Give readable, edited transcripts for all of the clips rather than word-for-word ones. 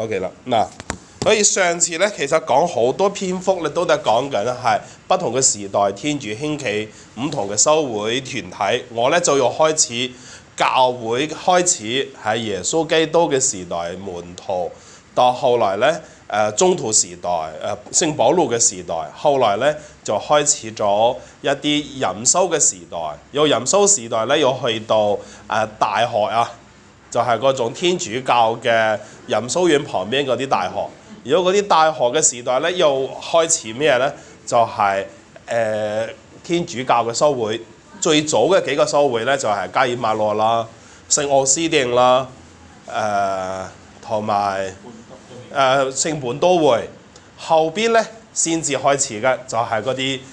OK 啦，嗱，所以上次咧其實講好多篇幅咧都係講緊係不同嘅時代，天主興起唔同嘅修會團體。我咧就要開始教會開始喺耶穌基督嘅時代門徒，到後來咧中途時代聖保祿嘅時代，後來咧就開始咗一啲隱修嘅時代。有隱修時代咧，要去到大學啊。就係嗰種天主教嘅隱修院旁邊嗰啲大學。如果嗰啲大學嘅時代咧，又開始咩咧？就係、天主教嘅修會。最早嘅幾個修會咧，就係加爾默羅啦、聖奧斯定啦、同埋聖本都會。後邊咧先至開始嘅，就係嗰啲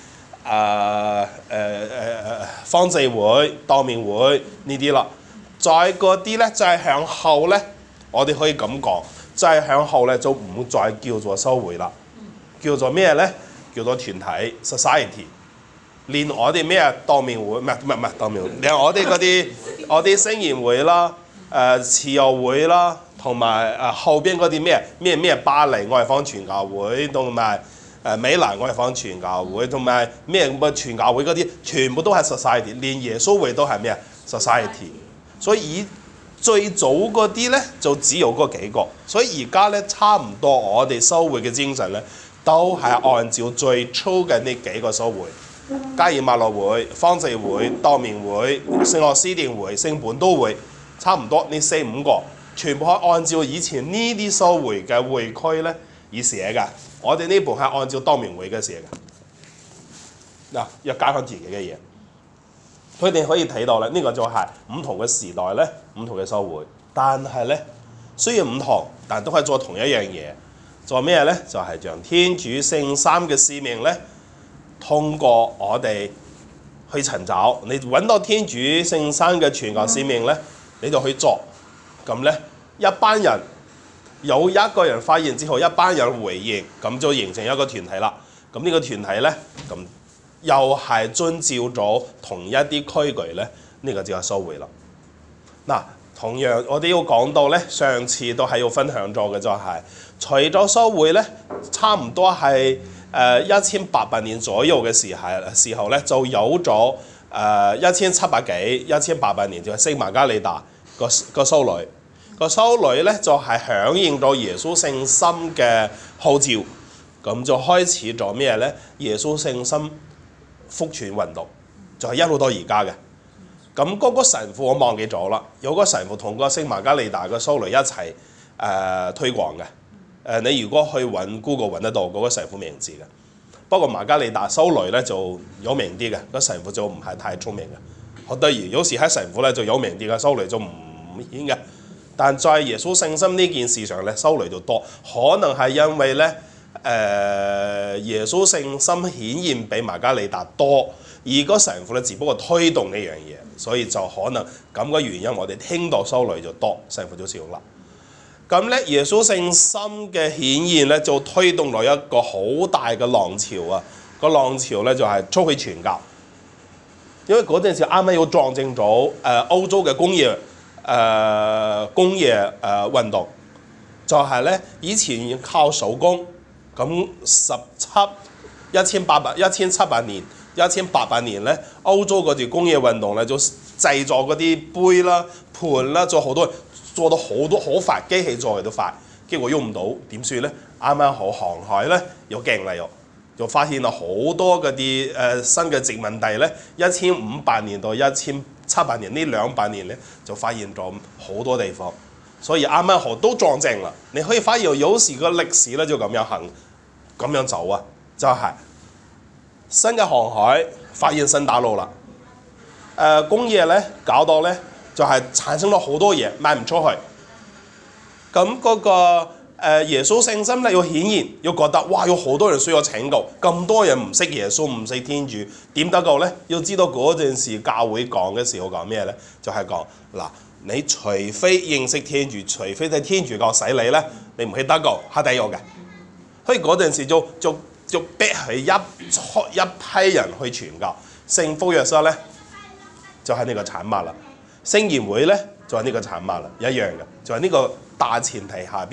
方濟會、道明會呢啲啦。再嗰啲咧，就係向後咧，我哋可以咁講，再向後咧就唔再叫做修會啦，叫做咩咧？叫做團體 society。連我哋咩道明會，唔係道明會，連我哋嗰啲我啲聖言會啦、慈幼會啦，同埋後邊嗰啲咩巴黎外方傳教會，同埋美蘭外方傳教會，同埋咩傳教會嗰啲，全部都係 society。連耶穌會都係咩 society。所以最早嗰啲咧就只有嗰幾個，所以而家咧差唔多我哋修會嘅精神咧，都係按照最初嘅呢幾個修會，加爾默羅會、方濟會、道明會、聖奧斯定會、聖本都會，差唔多呢4-5個，全部係按照以前呢啲修會嘅會區咧而寫嘅。我哋呢部係按照道明會嘅寫嘅，嗱，要加翻自己嘅嘢。佢哋可以睇到咧，呢個就係唔同嘅時代咧，唔同嘅修會。但係咧，雖然唔同，但都係做同一樣嘢。做咩咧？就係將天主聖三嘅使命咧，通過我哋去尋找。你揾到天主聖三嘅傳教使命咧，你就去做。咁咧，一班人有一個人發現之後，一班人回應，咁就形成一個團體啦。咁呢個團體咧，咁又係遵照咗同一啲規矩咧，呢個就係修會啦。嗱，同樣我哋要講到咧，上次都係要分享咗嘅就係，除咗修會咧，差唔多係1800年左右嘅時候咧，就有咗1700幾、1800年就係聖瑪加利大個修女。個修女咧就係響應咗耶穌聖心嘅號召，咁就開始咗咩咧？耶穌聖心福傳運動就係一路到而家嘅。咁嗰個神父我忘記咗啦，有個神父同個聖瑪加利大嘅修女一齊推廣嘅。你如果去揾 Google 揾得到嗰個神父名字嘅。不過瑪加利大修女咧就有名啲嘅，個神父就唔係太聰明嘅。好得意，有時喺神父咧就有名啲嘅，修女就唔顯嘅。但在耶穌聖心呢件事上咧，修女就多，可能係因為咧耶穌聖心顯現比瑪加利大多，而個神父咧只不過推動呢樣嘢，所以就可能咁嘅原因，我哋聽到修女就多，神父就少啦。咁咧耶穌聖心嘅顯現咧，就推動咗一個好大嘅浪潮啊！個浪潮咧就係出去傳教，因為嗰陣時啱啱要撞正咗歐洲嘅工業運動，就係咧以前靠手工，咁1800年咧，歐洲嗰啲工業運動咧就製作嗰啲杯啦、盤啦，做到好多好快，機器做嘅都快，結果用唔到點算咧？啱啱好航海咧又勁啦，又發現咗好多嗰啲新嘅殖民地咧，1500年到1700年呢200年咧就發現咗好多地方，所以啱啱好都撞正啦。你可以發現有時個歷史咧就咁樣走啊，就係新嘅航海發現新大陸啦，工業咧搞到咧就係產生咗好多嘢賣唔出去，咁嗰個耶穌聖心咧要顯現，要覺得哇有好多人需要拯救，咁多人唔識耶穌唔識天主點得救咧？要知道嗰陣時教會講嘅時候講咩咧？就係講嗱，你除非認識天主，除非喺天主教洗你咧，你唔係得救，係地獄嘅。所以嗰陣時就逼佢一批人去傳教。聖福若瑟咧就係呢個產物啦，聖言會咧就係呢個產物啦，一樣嘅，就係呢個大前提下邊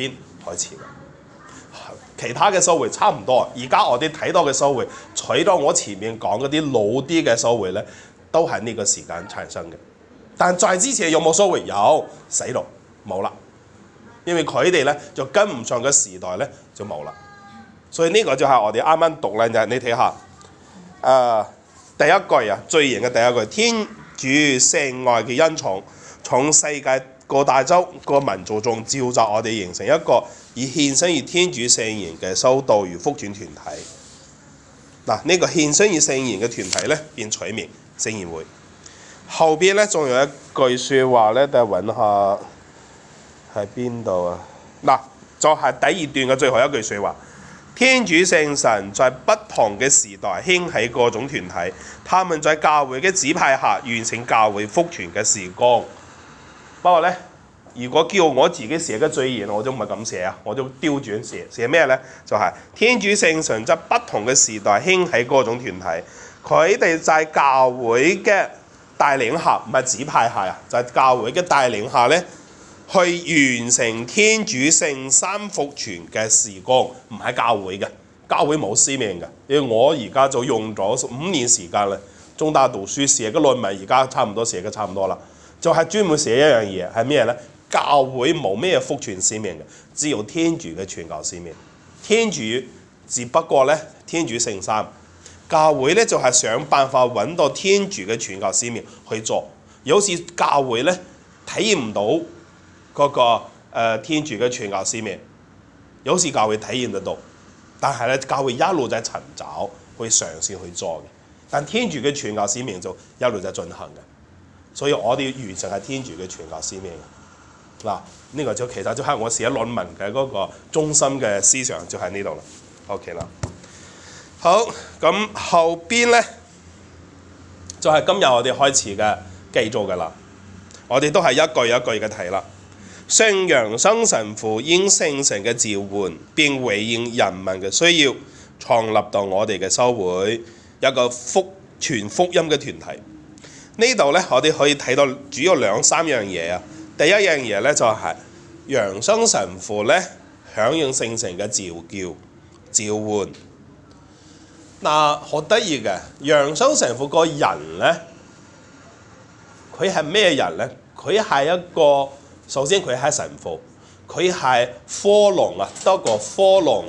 開始嘅。其他嘅修會差唔多，而家我哋睇到嘅修會，除咗我前面講嗰啲老啲嘅修會咧，都係呢個時間產生嘅。但在之前有冇修會？有，死咯，冇啦。因為佢哋咧就跟唔上個時代咧，就冇啦。所以呢個就係我哋啱啱讀咧，就你睇下，第一句啊，最型嘅第一句，天主聖愛嘅恩寵，從世界各大洲各民族中召集我哋，形成一個以獻身於天主聖言嘅修道與福傳團體。嗱，呢個獻身於聖言嘅團體咧，便取名聖言會。後邊咧仲有一句説話咧，等揾下。喺邊度啊？嗱，就係第二段嘅最後一句説話。天主聖神在不同嘅時代興起各種團體，他們在教會嘅指派下完成教會福傳嘅事工。不過咧，如果叫我自己寫嘅序言，我就唔係咁寫啊，我就調轉寫。寫咩咧？就係、是、天主聖神在不同嘅時代興起各種團體，佢哋在教會嘅帶領下，唔係指派下啊，就係、是、教會嘅帶領下咧。去完成天主聖三福傳嘅事工，唔係教會嘅，教會冇使命嘅。因為我而家就用咗5年時間啦，中大讀書寫嘅論文，而家差唔多寫嘅差唔多啦，就係、是、專門寫一樣嘢，係咩咧？教會冇咩福傳使命嘅，只有天主嘅傳教使命。天主只不過咧，天主聖三，教會咧就係、是、想辦法揾到天主嘅傳教使命去做。有時教會咧體驗唔到。嗰個天主嘅傳教使命，有時教會體驗得到，但係咧教會一路在尋找，去嘗試去做嘅。但天主嘅傳教使命就一路在進行嘅，所以我哋完成係天主嘅傳教使命嘅。嗱，呢個就其實就係我寫論文嘅嗰個中心嘅思想就喺呢度啦。OK 啦，好，咁後邊咧就係、是、今日我哋開始嘅繼續嘅啦。我哋都係一句一句嘅睇啦。聖楊生神父應聖神嘅召喚，並回應人民嘅需要，創立到我哋嘅修會，一個傳福音嘅團體。呢度咧，我哋可以睇到主要2、3樣嘢啊。第一樣嘢咧就係、是、楊生神父咧響應聖神嘅召喚。嗱，好得意嘅，楊生神父個人咧，佢係咩人咧？佢係一個。首先佢係神父，佢係科隆啊，德國科隆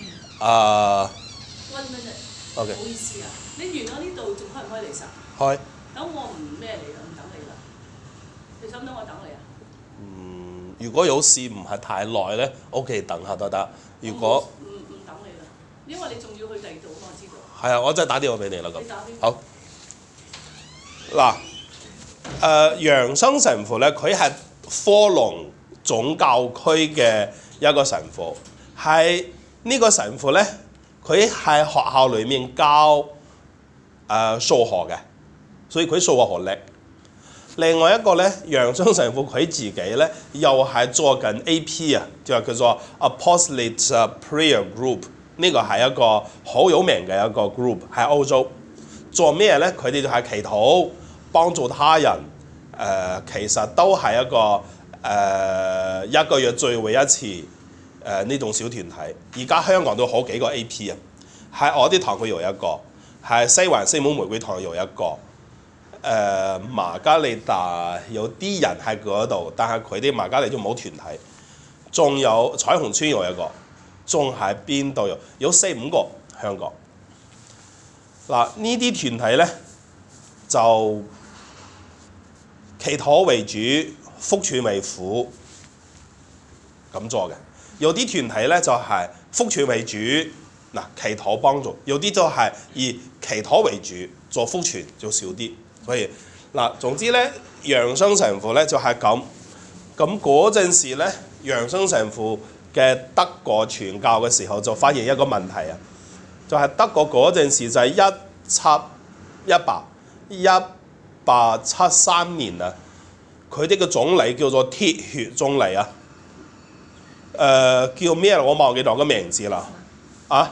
One minute， OK， 唔好意思啊，你完咗呢度仲開唔開嚟實？ 開。 等我唔咩嚟啦，唔等你啦。你想唔想我等你啊？ 如果有事唔係太耐咧，OK， 等下都得。如果唔等你啦，因為你仲要去第二度嘛，我知道。 係啊，我真係打電話俾你啦咁。 你打邊？ 好。嗱，楊生神父咧，佢係科隆總教區嘅一個神父，係呢個神父咧，佢喺學校裏面教數學嘅，所以佢數學好叻。另外一個咧，楊生神父佢自己咧又係做緊 AP 啊，就係叫做 Apostolate Prayer Group， 呢個係一個好有名嘅一個 group 喺歐洲。做咩咧？佢哋就係祈禱，幫助他人。其實都係一個1個月聚會一次呢種小團體。而家香港都好幾個 AP 啊，喺我啲堂區有一個，喺西環聖母玫瑰堂有一個，瑪加利大有啲人喺嗰度，但係佢哋瑪加利都冇團體。仲有彩虹村有一個，仲喺邊度有4、5個香港。嗱，呢啲團體咧就祈禱為主，福傳為輔咁做嘅。有啲團體咧就係福傳為主，嗱祈禱幫助；有啲就係以祈禱為主，做福傳就少啲。所以嗱，總之咧，楊生神父咧就係咁。咁嗰陣時咧，楊生神父嘅德國傳教嘅時候就發現一個問題啊，就係德國嗰陣時就係1873年啊，佢哋嘅總理叫做鐵血總理啊，叫咩？我忘記咗個名字啦。啊？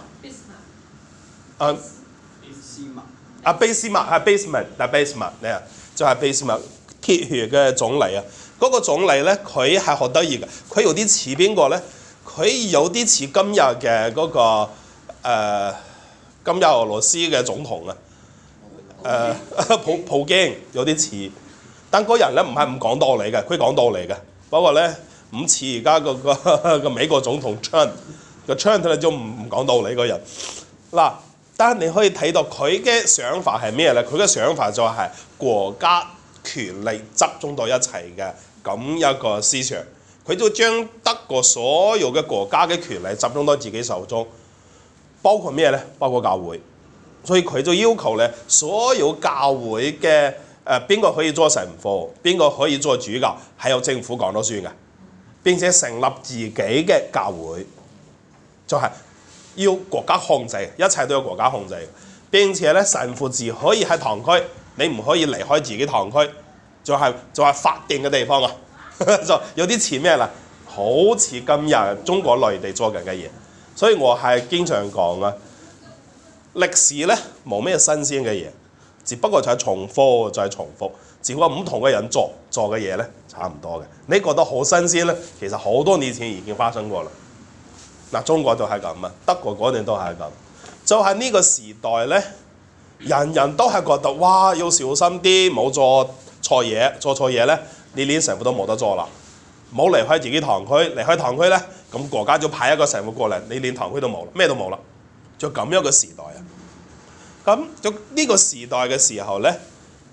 俾斯麥係 basement 咧，就係俾斯麥鐵血嘅總理啊。嗰個總理咧，佢係好得意嘅，佢有啲似邊個咧？ 佢有啲似今日嘅嗰個今日俄羅斯嘅總統啊，普京有啲似，但嗰人咧唔係唔講道理嘅，佢講道理嘅，不過咧唔似而家個美國總統 Trump 咧就唔講道理嗰人嗱。但係你可以睇到佢嘅想法係咩咧？佢嘅想法就係國家權力集中到一齊嘅咁一個思想。佢就將德國所有嘅國家嘅權力集中到自己手中，包括咩咧？包括教會。所以佢就要求咧，所有教會嘅邊個可以做神父，邊個可以做主教，係由政府講咗算嘅。並且成立自己嘅教會，就係要國家控制，一切都有國家控制。並且咧，神父只可以喺堂區，你唔可以離開自己堂區，就係法定嘅地方啊。就有啲似咩啦？好似今日中國內地做緊嘅嘢。所以我係經常講啊，歷史咧冇咩新鮮嘅嘢，只不過就係重複，就係重複。只不過唔同嘅人做嘅嘢咧差唔多嘅。你覺得好新鮮咧，其實好多年前已經發生過啦。嗱，中國就係咁啊，德國嗰陣都係咁。就係呢個時代咧，人人都係覺得哇，要小心啲，冇做錯嘢，做錯嘢咧，你連神父都冇得做啦。冇離開自己堂區，離開堂區咧，咁國家就派一個神父過嚟，你連堂區都冇啦，咩都冇啦。就咁樣嘅時代啊。咁就呢個時代嘅時候咧，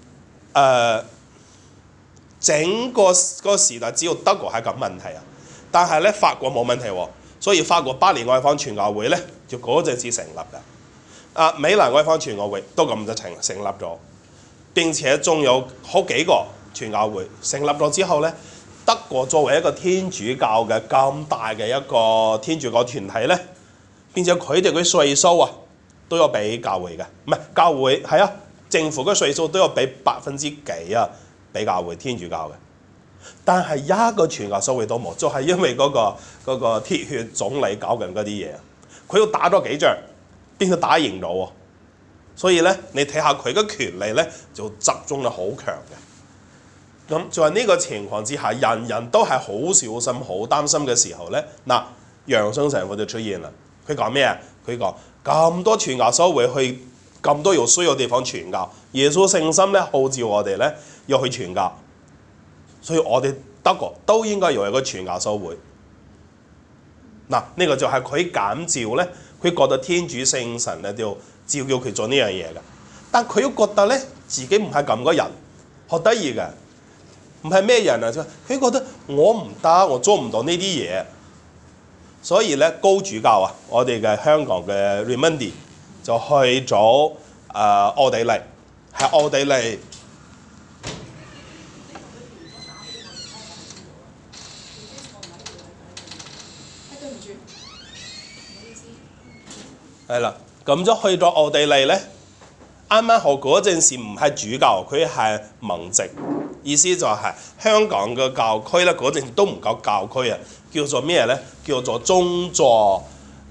整個時代只有德國係咁問題啊，但係咧法國冇問題喎。所以法國巴黎外方傳教會咧，就嗰陣時成立嘅。米蘭外方傳教會都咁就成立咗，並且仲有好幾個傳教會成立咗之後咧，德國作為一個天主教嘅咁大嘅一個天主教團體咧，並且佢哋嘅稅收啊都有俾教會嘅，唔係教會係啊，政府嘅稅收都有俾%幾啊俾教會天主教嘅。但係一個傳教收會都冇，就係因為嗰個鐵血總理搞緊嗰啲嘢，佢要打咗幾仗，邊個打贏咗喎？所以咧，你睇下佢嘅權力咧就集中得好強嘅。咁就係呢個情況之下，人人都係好小心、好擔心嘅時候咧，嗱，楊生神父就出現啦。佢講咩啊？佢講咁多傳教收會去咁多有需要嘅地方傳教，耶穌聖心咧號召我哋咧要去傳教。所以我哋德國都應該有一個傳教修會。嗱，呢個就係佢感召咧，佢覺得天主聖神咧就召叫佢做呢樣嘢嘅。但佢又覺得咧自己唔係咁個人，好得意嘅，唔係咩人啊？佢覺得我唔得，我做唔到呢啲嘢。所以咧高主教啊，我哋嘅香港嘅 Raimondi 就去咗奧地利，喺奧地利。係啦，咁就去咗奧地利咧。啱啱好嗰陣時唔係主教，佢係盟籍，意思就係香港嘅教區咧，嗰陣時都唔夠教區啊，叫做咩咧？叫做宗座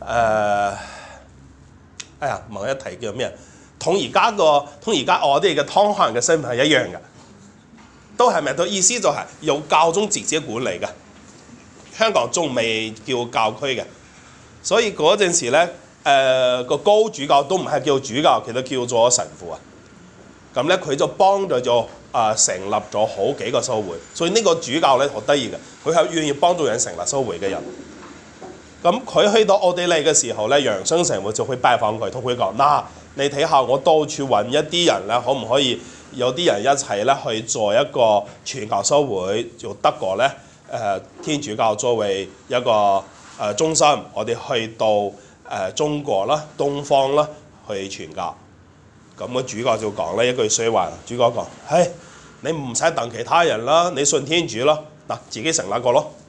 問一題叫咩？同而家我哋嘅湯漢嘅身份係一樣嘅，都係咪？都意思就係由教宗直接管理嘅。香港仲未叫教區嘅，所以嗰陣時咧。個高主教都唔係叫主教，其實叫做神父啊。咁咧佢就幫助咗成立咗好幾個修會，所以呢個主教咧好得意嘅，佢係願意幫助人成立修會嘅人。咁佢去到奧地利嘅時候咧，楊生神父就去拜訪佢，同佢講：嗱，你睇下我到處揾一啲人咧，可唔可以有啲人一齊咧去做一個傳教修會？就德國咧天主教作為一個中心，我哋去到。中國啦、東方啦去傳教，咁個主教就講咧一句説話，主教講：唉，你唔使等其他人啦，你信天主啦，嗱，自己成立個咯。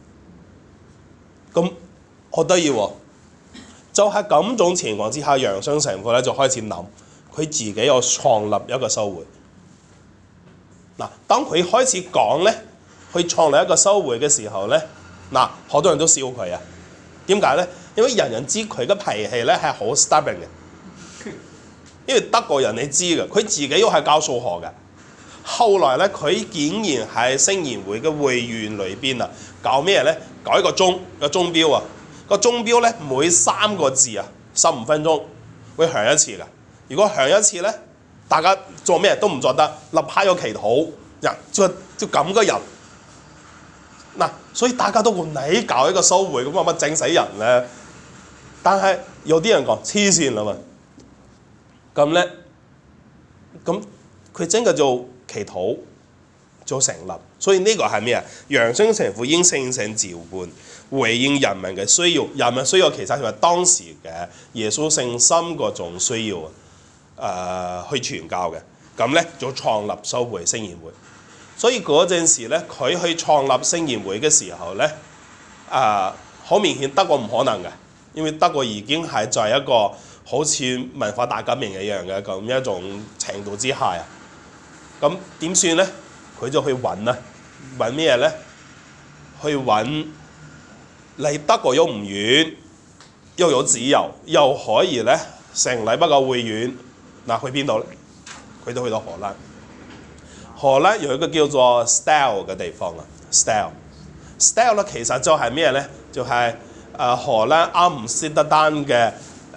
咁好得意喎，就係咁種情況之下，楊生神父咧就開始諗，佢自己又創立一個修會。嗱，當佢開始講咧，去創立一個修會嘅時候咧，嗱，好多人都笑佢啊。點解咧？因為人人知佢嘅脾氣咧係好 stubborn 嘅，因為德國人你知嘅，佢自己又係教數學嘅， 後來咧，佢竟然喺聖言會嘅會員裏邊啊，搞咩咧？搞一個鐘錶啊！個鐘錶咧，每3個字啊，15分鐘會響一次㗎。如果響一次咧，大家做咩都唔做得，立刻要祈禱，就咁嘅人。嗱，所以大家都話你搞一個修會咁乜整死人咧？但係有啲人講黐線啦嘛，咁咧，咁佢真嘅做祈禱做成立，所以呢個係咩啊？楊生神父應聖神召喚，回應人民嘅需要。人民需要其實係當時嘅耶穌聖心嗰種需要去傳教嘅。咁咧就創立修會聖言會。所以嗰陣時咧，佢去創立聖言會嘅時候咧，好明顯德國唔可能嘅。因為德國已經係在一個好似文化大革命一樣嘅咁一種程度之下啊，咁點算咧？佢就去揾啊，揾咩咧？去揾離德國又唔遠，又有自由，又可以咧成立一個會院。嗱，去邊度咧？佢都去到荷蘭。荷蘭有一個叫做 Stijl 嘅地方啊 ，Stijl 咧其實就係咩咧？就係荷蘭阿姆斯特丹嘅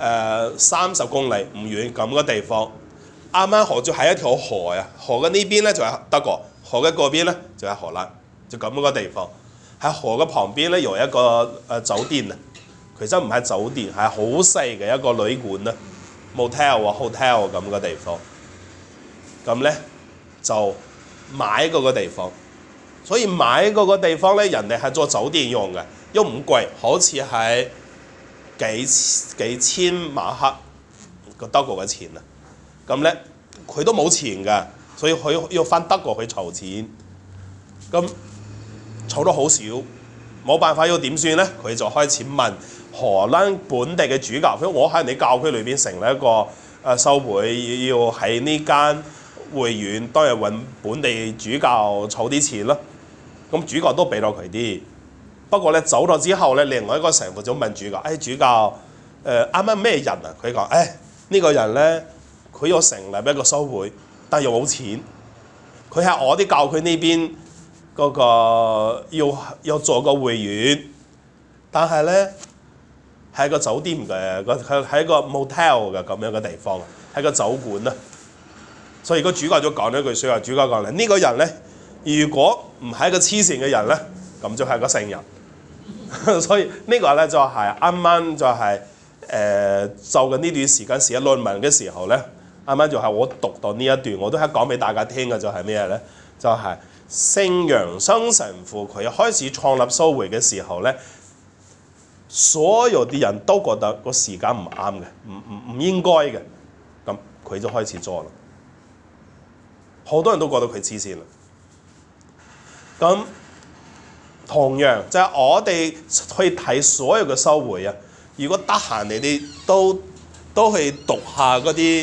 30公里唔遠咁嘅地方，啱啱河就係一條河啊，河嘅呢邊咧就係德國，河嘅嗰邊咧就係荷蘭，就咁個地方。喺河嘅旁邊咧有一個酒店啊，其實唔係酒店，係好細嘅一個旅館啊 ，motel 啊 hotel 咁嘅地方。咁咧就買嗰個地方，所以買嗰個地方咧，人哋係做酒店用嘅。又唔貴，好似係幾千馬克個德國嘅錢啊！咁咧佢都冇錢㗎，所以佢要翻德國去籌錢。咁籌得好少，冇辦法要點算咧？佢就開始問荷蘭本地嘅主教，我喺你教區裏邊成立一個修會，要喺呢間會院當日揾本地主教籌啲錢咯。咁主教都俾到佢啲。不過咧走咗之後咧，另外一個神父就問主教：主教，啱啱咩人啊？佢講：呢個人咧，佢要成立一個修會，但又冇錢。佢喺我啲教區呢邊嗰個要做個會院，但係咧係個酒店嘅，佢係一個 motel 嘅咁樣嘅地方，係個酒館啊。所以個主教就講咗一句説話：主教講咧，呢個人咧，如果唔係一個黐線嘅人咧，咁就係個聖人。所以呢個咧就係啱啱就係就緊呢段時間寫論文嘅時候咧，啱啱就係我讀到呢一段，我都係講俾大家聽嘅，就係咩咧？就係聖楊生神父佢開始創立修會嘅時候咧，所有啲人都覺得個時間唔啱嘅，唔應該嘅，咁佢就開始做啦。好多人都覺得佢黐線啦。咁同樣就係我哋去睇所有嘅修會啊！如果得閒，你哋都去讀下嗰啲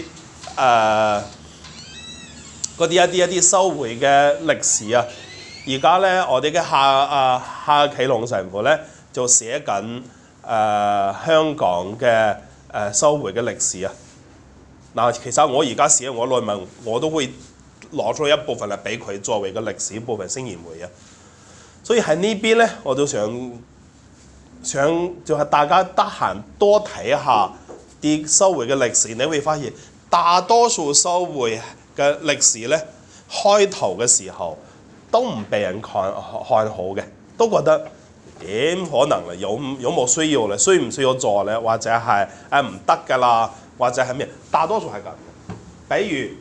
一啲修會嘅歷史啊！而家咧，我哋嘅夏啟龍神父咧就寫緊香港嘅修會嘅歷史啊！嗱，其實我而家寫我論文，我都會攞出一部分嚟俾佢作為個歷史部分聖言會啊！所以喺呢邊咧，我都想就係大家得閒多睇下啲修會嘅歷史，你會發現大多數修會嘅歷史咧，開頭嘅時候都唔被人看好嘅，都覺得點可能咧？有冇需要咧？需唔需要做咧？或者係唔得㗎啦？或者係咩？大多數係咁嘅。比如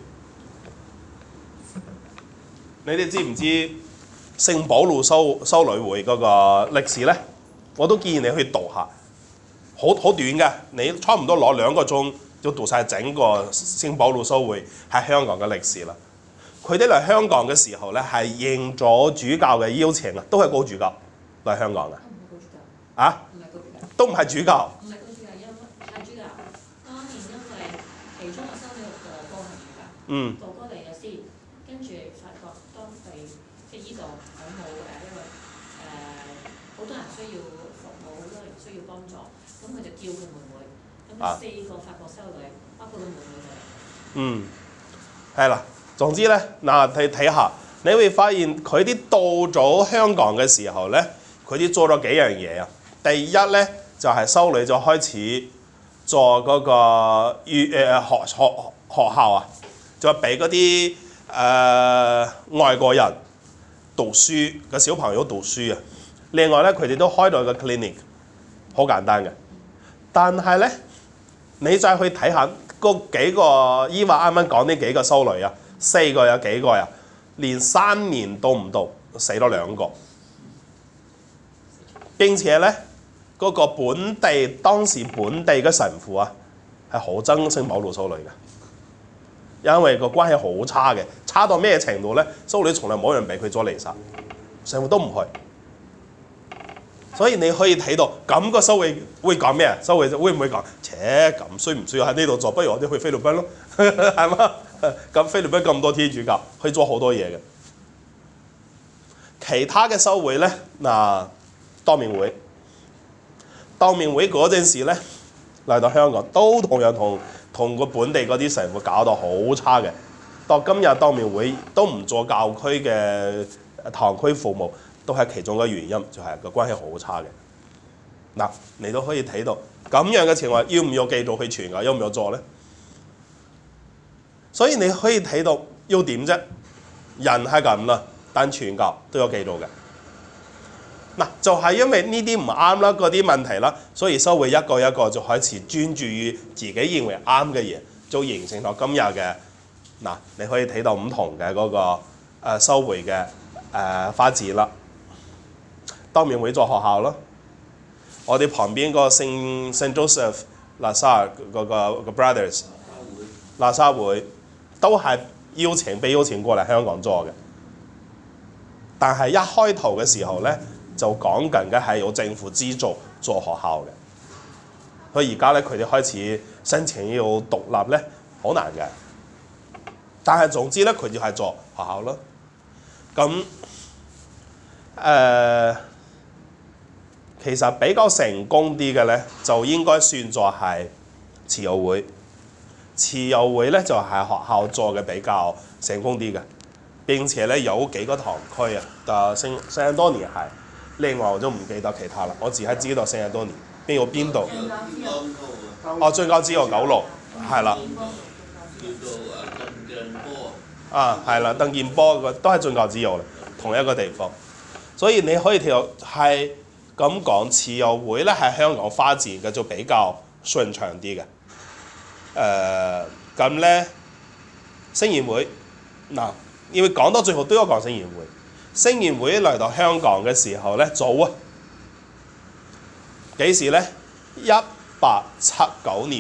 你哋知唔知聖保祿修女會嗰個歷史咧？我都建議你去讀下，好短嘅，你差唔多攞2個鐘就讀晒整個聖保祿修會喺香港嘅歷史啦。佢哋嚟香港嘅時候咧，係應咗主教嘅邀請啊，都係高主教嚟香港嘅。啊？都唔係主教。唔係高主教，因為係主教。當年因為其中嘅修女哥哥係主教。哥哥嚟咗先，跟住發覺當地即係依度好冇因為好多人需要服務，好多人需要幫助，咁佢就叫佢妹妹，咁4個法國修女，包括佢妹妹就嚟。係啦。 總之咧，嗱睇下，你會發現佢啲到咗香港嘅時候咧，佢啲做咗幾樣嘢啊。第一咧就係修女就開始做嗰個學校啊，就俾嗰啲外國人讀書嘅小朋友讀書啊。另外咧，佢哋都開到個 clinic， 好簡單嘅。但係咧，你再去睇下嗰幾個依話啱啱講呢幾個修女啊，4個有幾個啊？連3年都唔到，死咗2個。並且咧，嗰個當時本地嘅神父啊，係好憎聖保祿修女嘅，因為個關係好差嘅，差到咩程度咧？修女從來冇人俾佢做彌撒，神父都唔去。所以你可以睇到咁個修會會講咩啊？修會會唔會講？咁需唔需要喺呢度做？不如我哋去菲律賓咯，係嘛？咁菲律賓咁多天主教，可以做好多嘢嘅。其他嘅修會咧，嗱，當面會嗰陣時咧，嚟到香港都同樣同個本地嗰啲神父搞到好差嘅。到今日當面會都唔做教區嘅堂區服務。都係其中嘅原因，就係個關係好差嘅。嗱，你都可以睇到咁樣嘅情況，要唔要繼續去傳教，要唔要做咧？所以你可以睇到要點啫？人係咁啦，但傳教都有繼續嘅。嗱，就係因為呢啲唔啱啦，嗰啲問題啦，所以修會一個一個就開始專注於自己認為啱嘅嘢，就形成咗今日嘅嗱。你可以睇到唔同嘅嗰個修會嘅發展啦。當面會做學校咯，我哋旁邊個聖 Joseph 喇沙嗰個 Brothers 喇沙會都係被邀請過嚟香港做嘅，但係一開頭嘅時候咧就講緊嘅係有政府資助做學校嘅，所以而家咧佢哋開始申請要獨立咧好難嘅，但係總之咧佢就係做學校咯，咁其實比較成功啲嘅咧，就應該算作係慈幼會。慈幼會咧就係學校做嘅比較成功啲嘅，並且咧有幾個堂區啊，聖安多尼係，另外我都唔記得其他啦，我只係知道聖安多尼邊度。哦，進教之後9路係啦。係啦，鄧建波都係進教之後啦，同一個地方。所以你可以睇到係咁講，慈幼會咧喺香港發展嘅就比較順暢啲嘅。咁咧聖言會嗱，因為講到最後都要講聖言會。聖言會嚟到香港嘅時候咧，早啊，幾時咧？1879年。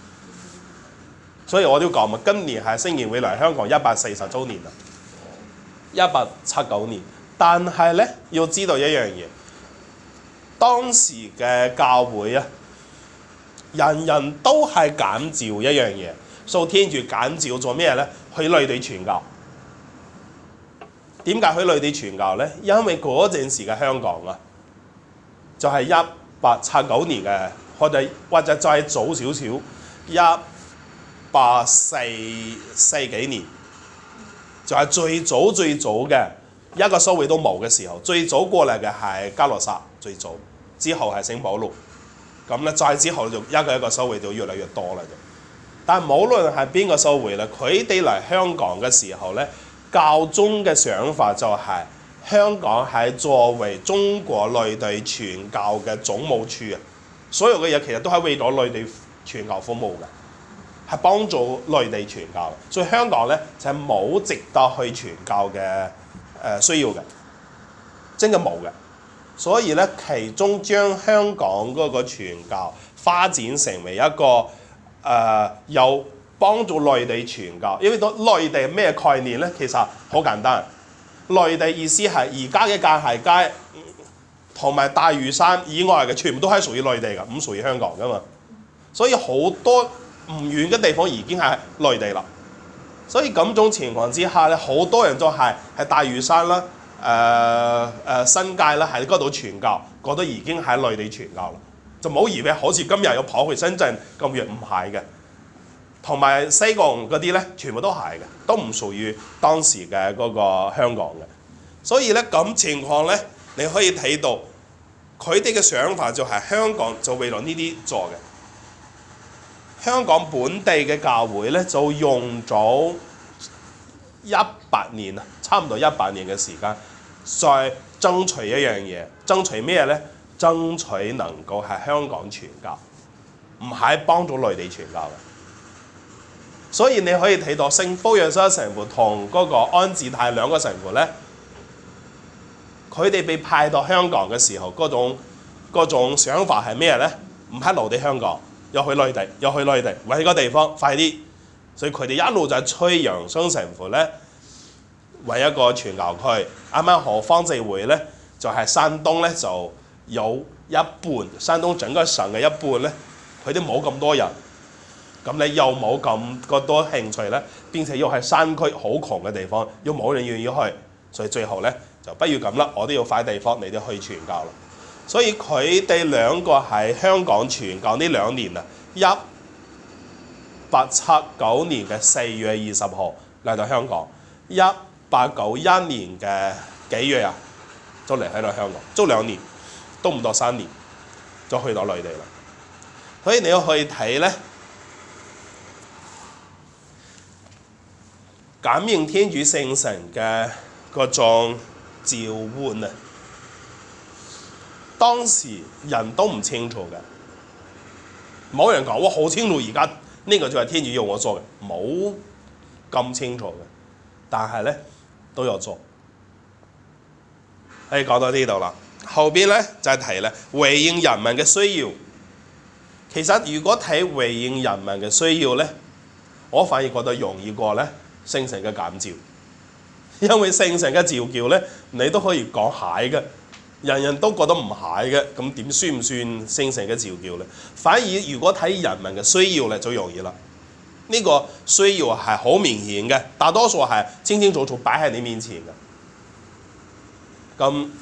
所以我都講嘛，今年係聖言會嚟香港140週年啦。1879年，但係咧要知道一樣嘢，當時嘅教會啊，人人都係感召一樣嘢，受天主感召做咩咧？去內地傳教。點解去內地傳教咧？因為嗰陣時嘅香港啊，就係1879年嘅，或者再早少少1840幾年，就係最早嘅一個修會都冇嘅時候，最早過嚟嘅係嘉諾撒，最早之後係聖保祿，咁咧再之後就一個修會就越嚟越多啦。但無論係邊個修會咧，佢哋嚟香港嘅時候咧，教宗嘅想法就係香港係作為中國內地傳教嘅總務處啊，所有嘅嘢其實都係為咗內地傳教服務嘅。係幫助內地傳教，所以香港咧就係冇值得去傳教嘅需要嘅，真嘅冇嘅。所以咧，其中將香港嗰個傳教發展成為一個有幫助內地傳教，因為到內地咩概念咧？其實好簡單，內地意思係而家嘅界限街同埋大嶼山以外嘅全部都係屬於內地㗎，唔屬於香港㗎嘛。所以好多唔遠嘅地方已經係內地啦，所以咁種情況之下咧，好多人都係大嶼山啦、新界啦，喺嗰度傳教，覺得已經喺內地傳教啦，就冇以為好似今日要跑去深圳咁遠，唔係嘅。 同埋西貢嗰啲咧，全部都係嘅，都唔屬於當時嘅嗰個香港嘅。所以咧咁情況咧，你可以睇到佢哋嘅想法就係香港就為咗呢啲做嘅。香港本地嘅教會咧就用咗100年啊，差唔多100年嘅時間，再爭取一樣嘢，爭取咩咧？爭取能夠喺香港傳教，唔係幫助內地傳教嘅。所以你可以睇到聖福若瑟神父同嗰個安治泰兩個神父咧，佢哋被派到香港嘅時候，嗰種想法係咩咧？唔係留喺香港，又去內地，揾個地方快啲。所以佢哋一路就催楊生神父咧揾一個傳教區。啱啱好方濟會咧，就係山東咧就有一半，山東整個省嘅一半咧，佢哋冇咁多人。咁你又冇咁多興趣咧，並且又係山區好窮嘅地方，又冇人願意去，所以最後咧就不如咁啦，我都要快地方，你哋去傳教啦。所以佢哋兩個喺香港傳教呢2年啊，1879年嘅4月20號嚟到香港，1891年嘅幾月啊，就離開到香港，足2年，都唔到3年，就去到內地啦。所以你要去睇咧。感應天主聖神嘅嗰種召喚啊，當時人都唔清楚嘅，冇人講我好清楚而家呢個就係天主要我做嘅，冇咁清楚嘅，但係咧都有做。可以講到呢度啦，後邊咧就係提咧回應人民嘅需要。其實如果睇回應人民嘅需要咧，我反而覺得容易過咧聖神嘅感召，因為聖神嘅召叫咧，你都可以講係嘅，人人都覺得唔係嘅，咁點算唔算聖神嘅召叫咧？反而如果睇人民嘅需要咧，就容易啦。呢個需要係好明顯嘅，大多數係清清楚楚擺喺你面前嘅。咁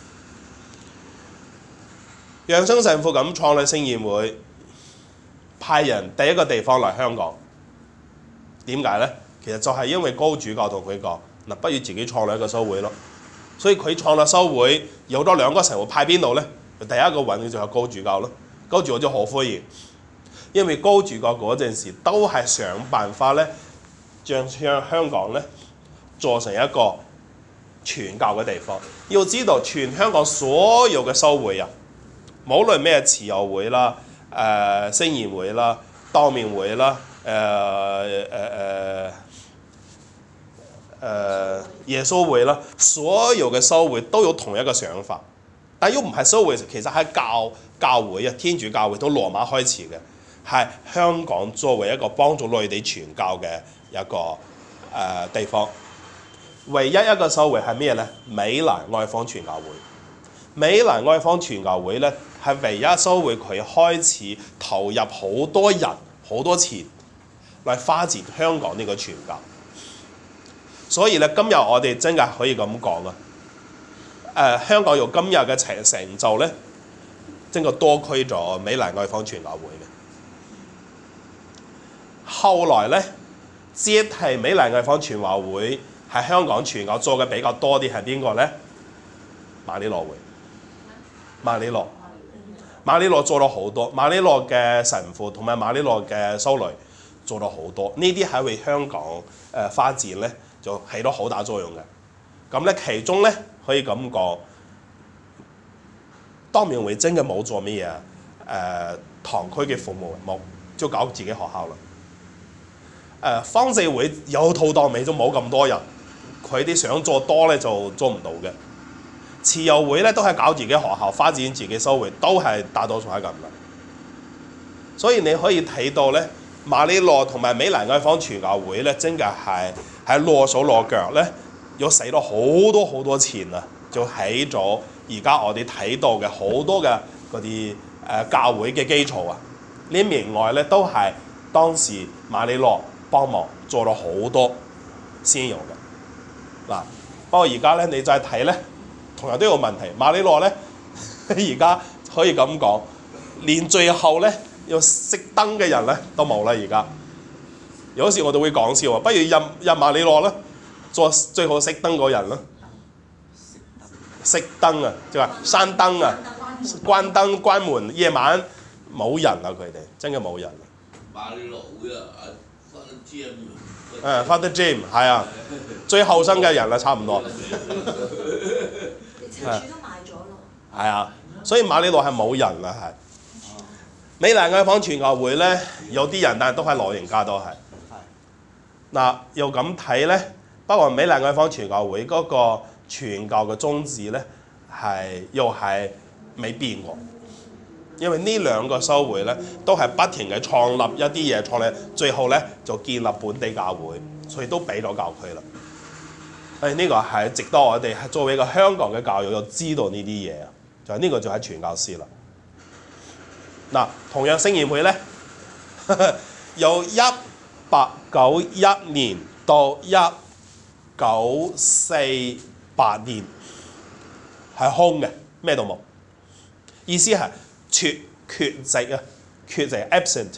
楊生神父咁創立聖言會，派人第一個地方嚟香港，點解咧？其實就係因為高主教同佢講，嗱，不如自己創立一個修會咯。所以佢創立修會，有咗2個神父派邊度咧？第一個揾嘅就係高主教咯。高主教就好歡迎，因為高主教嗰陣時都係想辦法咧，將香港咧做成一個傳教嘅地方。要知道全香港所有嘅修會啊，無論咩慈幼會啦、聖言會啦、當面會啦、耶穌會啦，所有嘅修會都有同一個想法，但又唔係修會，其實係教會啊，天主教會到羅馬開始嘅，係香港作為一個幫助內地傳教嘅一個地方。唯一一個修會係咩咧？美蘭外方傳教會。美蘭外方傳教會咧係唯一修會，佢開始投入好多人好多錢嚟發展香港呢個傳教。所以咧，今日我哋真係可以咁講啊！香港有今日嘅成就咧，真係多虧咗美蘭外方傳教會嘅。後來咧，接替美蘭外方傳教會喺香港傳教做嘅比較多啲係邊個咧？馬里諾會。馬里諾做咗好多，馬里諾嘅神父同埋馬里諾嘅修女做咗好多，呢啲係為香港發展咧，就起到好大作用嘅。咁咧，其中咧可以咁講，當面會真嘅冇做咩嘢堂區嘅服務，冇就搞自己學校啦。方濟會有套當尾都冇咁多人，佢哋想做多咧就做唔到嘅。慈幼會咧都係搞自己學校，發展自己修會，都係大多數係咁啦。所以你可以睇到咧，馬里諾同埋美蘭外方傳教會咧，真嘅係喺落手落腳咧，要使咗好多錢啊，就起咗而家我哋睇到嘅好多嘅嗰啲教會嘅基礎啊。呢名外咧都係當時馬里諾幫忙做咗好多先有嘅嗱。不過而家咧你再睇咧，同樣都有問題。馬里諾咧而家可以咁講，連最後咧要熄燈嘅人咧都冇啦。而家有時我哋會講笑啊，不如入馬里諾啦，做最好熄燈嗰人啦。熄燈啊，即係話閂燈啊，關燈關門，夜晚冇人啊，佢哋真嘅冇人啊。 馬里諾會啊 ，Father Jim 係啊，最後生嘅人啦，差唔多。 連車主都賣咗咯。 係啊，所以馬里諾係冇人啦，係。美蘭愛坊傳教會咧，有啲人，但係都係老人家都係。嗱，又咁睇咧，不過美蘭愛坊傳教會嗰個傳教嘅宗旨咧，又係未變過。因為呢兩個修會咧，都係不停嘅創立一啲嘢，創立最後咧就建立本地教會，所以都俾咗教區啦。呢個係值得我哋作為一個香港嘅教育要知道呢啲嘢啊，就係呢個就係傳教士啦。嗱，同樣聖言會咧，由1891年到1948年係空嘅，咩都冇。意思係缺席啊，缺席 absent，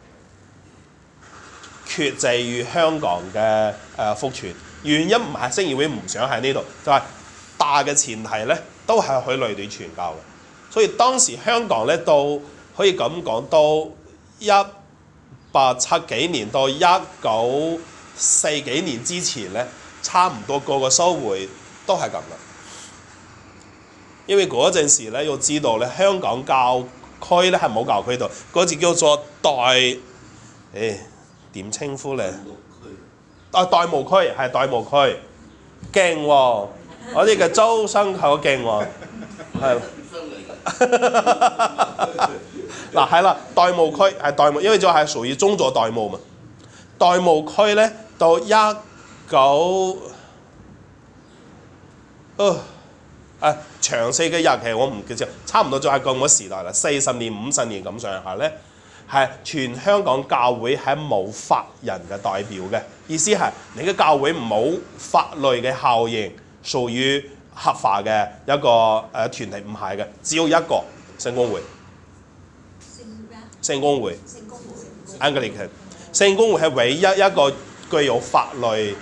缺席於香港嘅福傳。原因唔係聖言會唔想喺呢度，就係大嘅前提咧都係去內地傳教嘅。所以當時香港咧到可以咁講，到1870幾年到1940幾年之前咧，差唔多個個修會都係咁啦。因為嗰陣時咧，要知道咧，香港教區咧係冇教區度，嗰字叫做點稱呼咧？代務區係代務區，勁喎！我哋嘅周生好勁喎，係。嗱係啦，代務區係代務，因為就係屬於宗座代務嘛。代務區咧到詳細嘅日期我唔記得，差唔多就係咁個時代啦，40年50年咁上下咧，係全香港教會係冇法人嘅代表嘅，意思係你嘅教會冇法律嘅效應，屬於合法嘅一個團體，唔係嘅，只有一個聖公會。聖公會 Anglican 聖公會係唯一一個具有法律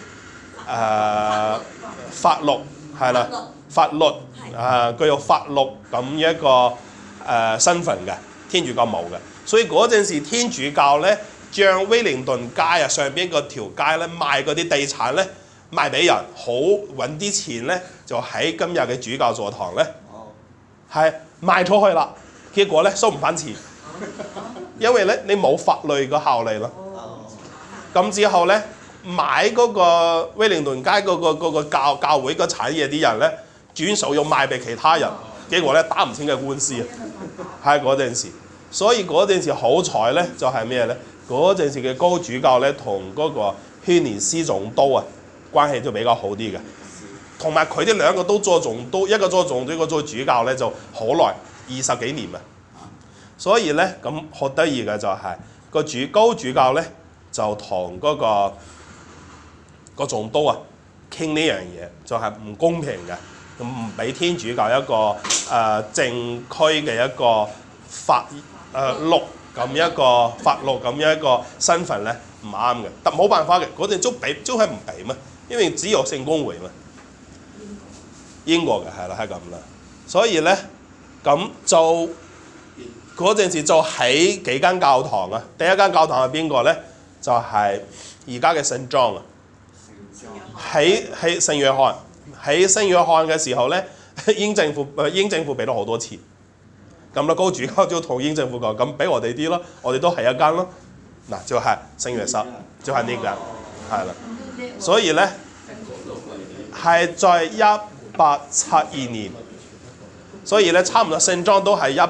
法律係啦，法律具有法律咁一個身份嘅，天主教冇嘅。所以嗰陣時天主教咧，將威靈頓街啊上邊嗰條街咧賣嗰啲地產咧賣俾人，好揾啲錢咧就喺今日嘅主教座堂咧係賣出去啦，結果咧收唔翻錢。因為咧你冇法律嘅效力咯，咁之後咧買嗰個威靈頓街嗰個教會嘅產業啲人咧轉手又賣俾其他人，結果咧打唔清嘅官司啊，係嗰陣時。所以嗰陣時好彩咧就係咩咧？嗰陣時嘅高主教咧同嗰個軒尼詩總督啊關係就比較好啲嘅，同埋佢哋兩個都做總督，一個做總督，一個做主教咧就好耐20幾年啊。所以咧咁好得意嘅就係、是、高主教咧就同個總督啊傾呢樣嘢，就係、是、唔公平嘅，咁唔俾天主教一個正區嘅一個法律咁一個法律咁一個身份咧唔啱嘅，但冇辦法嘅，嗰陣都係唔俾嘛，因為只有聖公會嘛，英國嘅係啦係咁啦，所以咧咁就。嗰陣時就起幾間教堂啊！第一間教堂係邊個咧？就係而家嘅聖莊啊！喺聖約翰，喺聖約翰嘅時候咧，英政府俾咗好多錢，咁啦高主教就同英政府講：咁俾我哋啲咯，我哋都係一間咯。嗱，就係聖約瑟，就係呢間，係啦。所以咧係在1872年，所以咧差唔多聖莊都係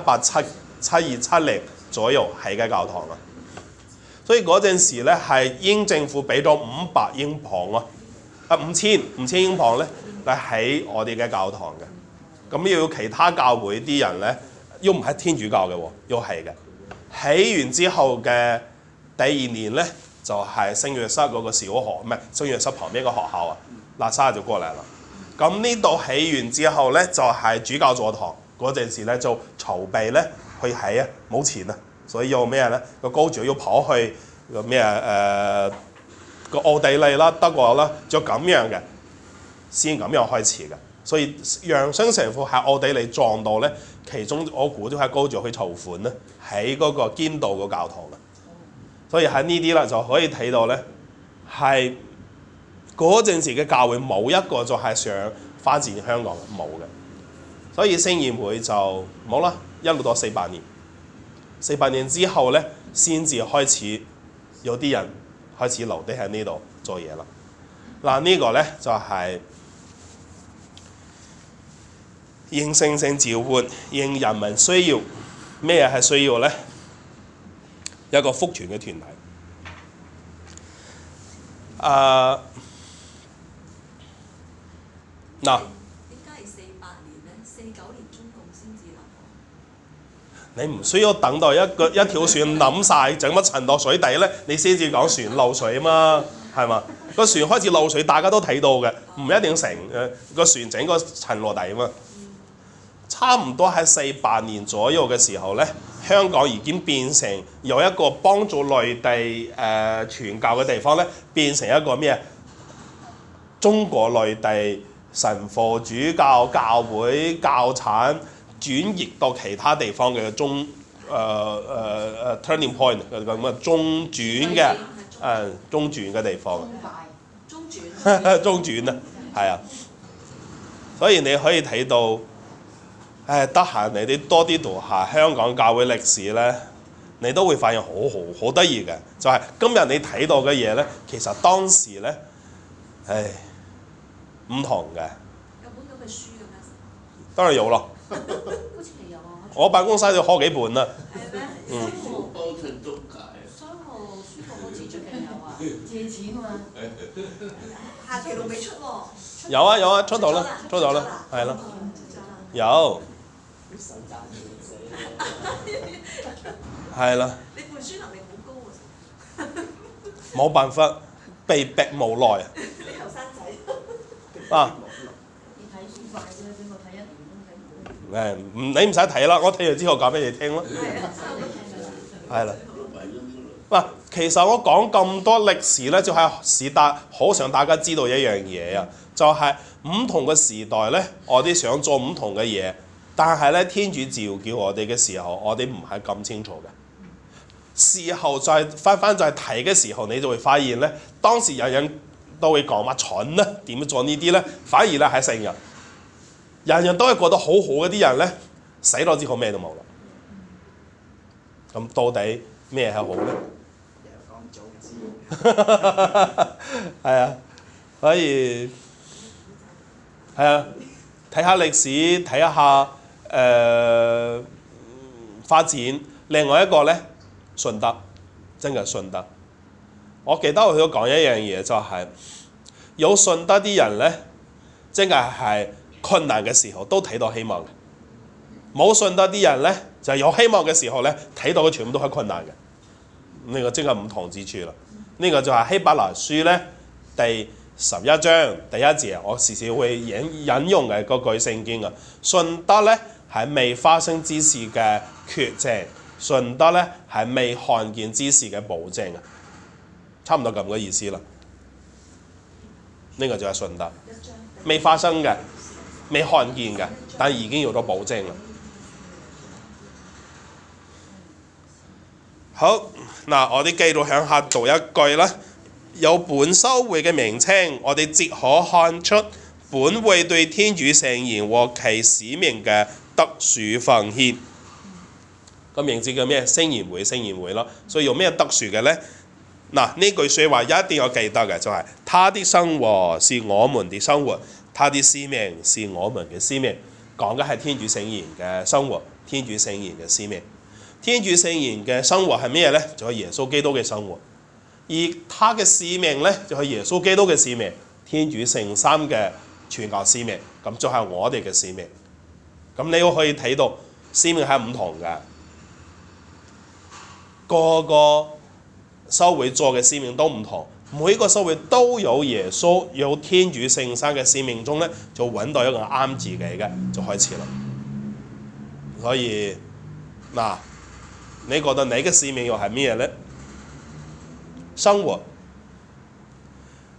7270左右起嘅教堂啦，所以嗰陣時咧係英政府俾咗500英鎊啊，5000英鎊咧嚟起我哋嘅教堂嘅，咁要其他教會啲人咧，又唔係天主教嘅喎，又係嘅。起完之後嘅第2年咧，就係聖約瑟嗰個小學，唔係聖約瑟旁邊個學校啊，喇沙就過嚟啦。咁呢度起完之後咧，就係主教座堂嗰陣時咧，就籌備咧。去起啊，冇錢啊，所以要咩咧？個高主要跑去個咩個奧地利啦、德國啦，就咁樣嘅，先咁樣開始嘅。所以楊生神父喺奧地利撞到咧，其中我估都係高咗去籌款咧，喺嗰個堅道個教堂啦。所以喺呢啲啦就可以睇到咧，係嗰陣時嘅教會冇一個就係想發展香港嘅，冇嘅。所以聖言會就冇啦，一路到400年，400年之後咧，先至開始有啲人開始留低喺呢度做嘢啦。嗱，呢個咧就係應聖性召喚，應人民需要。咩係需要咧？一個福傳嘅團體。嗱。 點解係48年咧？49年中共先至立。 你唔需要等到一條船冧晒，整乜沉落水底咧，你先至講船漏水啊嘛，係嘛？個船開始漏水，大家都睇到嘅，唔一定成個船整個沉落底啊嘛。差唔多喺48年左右嘅時候咧，香港已經變成有一個幫助內地傳教嘅地方咧，變成一個咩？中國內地神父主教教會教產轉移到其他地方嘅turning point 咁嘅中轉嘅中轉嘅地方。 中轉。 中轉啊，係啊，所以你可以睇到。得閒你哋多啲讀下香港教會歷史咧，你都會發現好得意嘅，就係今日你睇到嘅嘢咧，其實當時咧，唔同嘅。 有本咁嘅書嘅咩？ 當然有咯。 好似係有啊。 我辦公室就開幾本啦。 係咩？ 包成中介。 商務書局好似最近有啊，借錢啊嘛。下期路未出喎。 有啊，出到啦，係啦。有。係啦。 你背書能力好高喎。 冇辦法，被逼無奈。 你後生仔。 啊！ 你睇書快啫，俾我睇1年都睇唔到。 你唔使睇啦，我睇完之後講俾你聽啦。係啦。嗱，其實我講咁多歷史咧，就係好想大家知道一樣嘢啊，就係唔同嘅時代咧，我哋想做唔同嘅嘢，但係咧天主召叫我哋嘅時候，我哋唔係咁清楚嘅。事後再翻再睇嘅時候，你就會發現咧，當時人人都會講乜蠢咧，點樣做呢啲咧？反而咧係成日，人人都係覺得好好嗰啲人咧，死咗之後咩都冇啦。咁到底咩係好咧？係啊，所以係啊，睇下歷史，睇下發展。另外一個咧，順德，真係順德。我記得我都講一樣嘢，就係有順德啲人咧，真係困難嘅時候都睇到希望嘅；冇順德啲人咧，就係有希望嘅時候咧，睇到嘅全部都係困難嘅。呢個真係唔同之處啦。呢個就係希伯來書咧第11章第1節，我時時會引用嘅嗰句聖經啊。順德咧係未發生之事嘅決證，順德咧係未看見之事嘅保證啊，差唔多咁嘅意思啦。呢個就係順德，未發生嘅，未看見嘅，但已經有咗保證啦。好，嗱，我哋繼續向下讀一句啦。有本修會嘅名稱，我哋即可看出本會對天主聖言和其使命嘅特殊奉獻。個名字叫咩？聖言會，聖言會咯。所以有咩特殊嘅呢？嗱，呢句説話一定要記得嘅，就係他的生活是我們的生活，他的使命是我們嘅使命。講嘅係天主聖言嘅生活，天主聖言嘅使命。天主聖言嘅生活係咩呢？就係耶穌基督嘅生活。而他嘅使命呢，就係耶穌基督嘅使命，天主聖三嘅傳教使命，咁就係我哋嘅使命。咁你都可以睇到使命係唔同嘅，個個修會做嘅使命都唔同，每個修會都有耶穌有天主聖三嘅使命中呢，就揾到一個啱自己嘅，就開始啦。所以嗱，你覺得你嘅使命又係咩呢？生活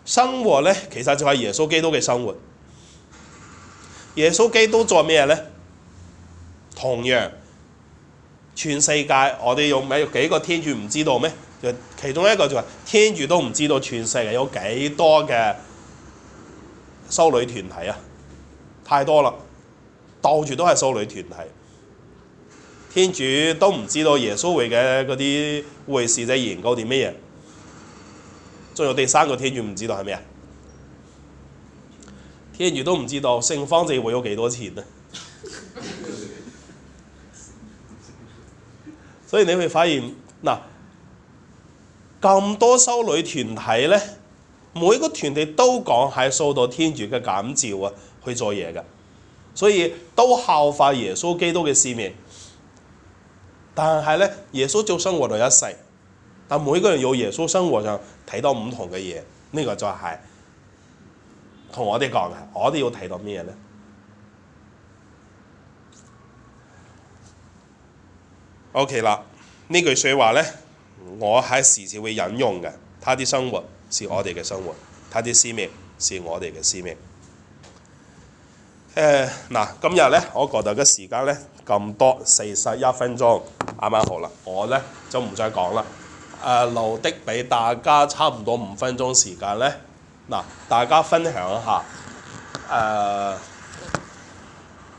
生活咧其實就係耶穌基督嘅生活。耶穌基督做咩咧？同樣，全世界我哋有幾個天主唔知道咩？就其中一個就係天主都唔知道全世界有幾多嘅修女團體啊！太多啦，到處都係修女團體。天主都唔知道耶穌會嘅嗰啲會士仔研究啲咩嘢。仲有第三個天主唔知道係咩啊？天主都唔知道聖方濟會有幾多錢啊！所以你會發現嗱，咁多修女團體咧，每個團體都講係受到天主嘅感召啊，去做嘢嘅，所以都效法耶穌基督嘅使命。但係咧，耶穌就生活咗一世，但每個人有耶穌生活上睇到唔同嘅嘢，呢個就係同我哋講嘅，我哋要睇到咩咧？OK 啦，呢句説話咧，我係時時會引用嘅。他的生活是我哋嘅生活，他的使命是我哋嘅使命。嗱，今日咧，我覺得嘅時間咧咁多41分鐘，啱啱好啦。我咧就唔再講啦。留的俾大家差唔多5分鐘時間咧，嗱，大家分享一下